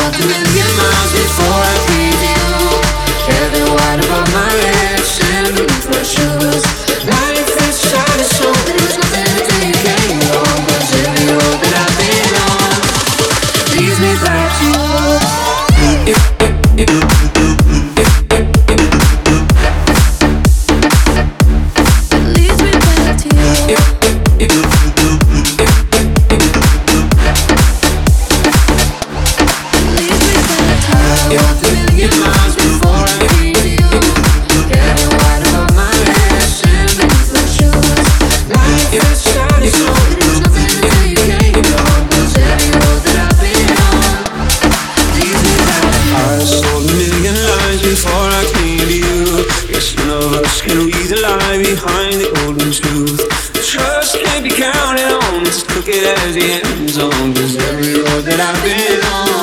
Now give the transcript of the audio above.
walked a million miles before I came to you. Hair that white above my head, sand beneath my shoes. Life is shiny, so there's nothing to take anymore. 'Cause every road that I've been on leads me back to you. Leads me back to you. Before I came to you, yes, none of us can read the lie behind the golden truth. Trust can't be counted on, just look it as the end zone. 'Cause every road that I've been on